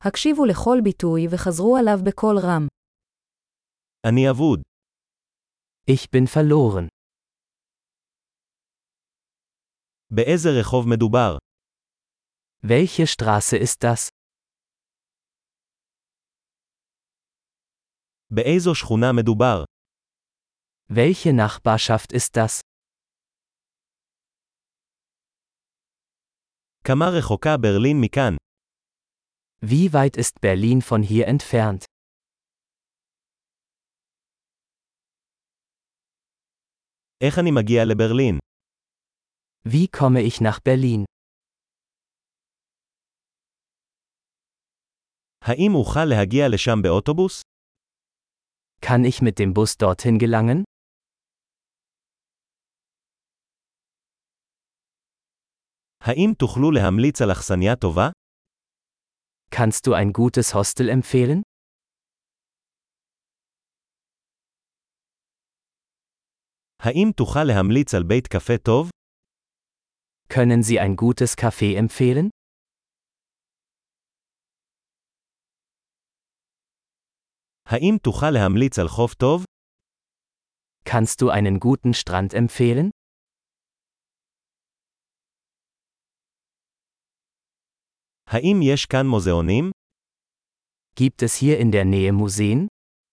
הקשיבו לכל ביטוי וחזרו עליו בקול רם. אני אבוד. Ich bin verloren. באיזה רחוב מדובר? Welche Straße ist das? באיזו שכונה מדובר? Welche Nachbarschaft ist das? כמה רחוקה ברלין מכאן? Wie weit ist Berlin von hier entfernt? איך אני מגיע לברלין? Wie komme ich nach Berlin? האם אוכל להגיע לשם באוטובוס? Kann ich mit dem Bus dorthin gelangen? האם תוכלו להמליץ על אכסניה טובה? Kannst du ein gutes Hostel empfehlen? האם תוכל להמליץ על בית קפה טוב? Können Sie ein gutes Café empfehlen? האם תוכל להמליץ על חוף טוב? Kannst du einen guten Strand empfehlen? האם יש כאן מוזיאונים? Gibt es hier in der Nähe Museen?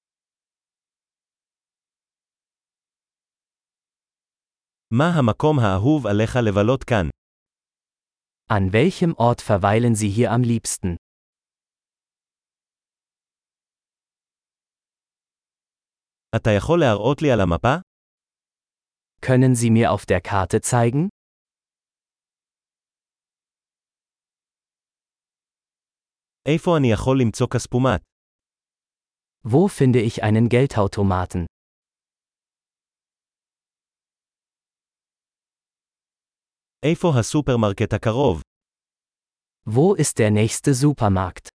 מה המקום האהוב עליך לבלות כאן? An welchem Ort verweilen Sie hier am liebsten? אתה יכול להראות לי על המפה? Können Sie mir auf der Karte zeigen? איפה אני יכול למצוא כספומט? Wo finde ich einen Geldautomaten? איפה הסופרמרקט הקרוב? Wo ist der nächste Supermarkt?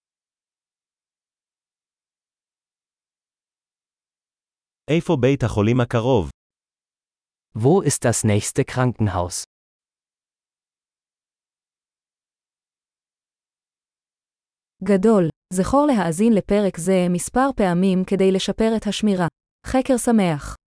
איפה בית החולים הקרוב? Wo ist das nächste Krankenhaus? גדול, זכור להאזין לפרק זה מספר פעמים כדי לשפר את השמירה. חקר שמח.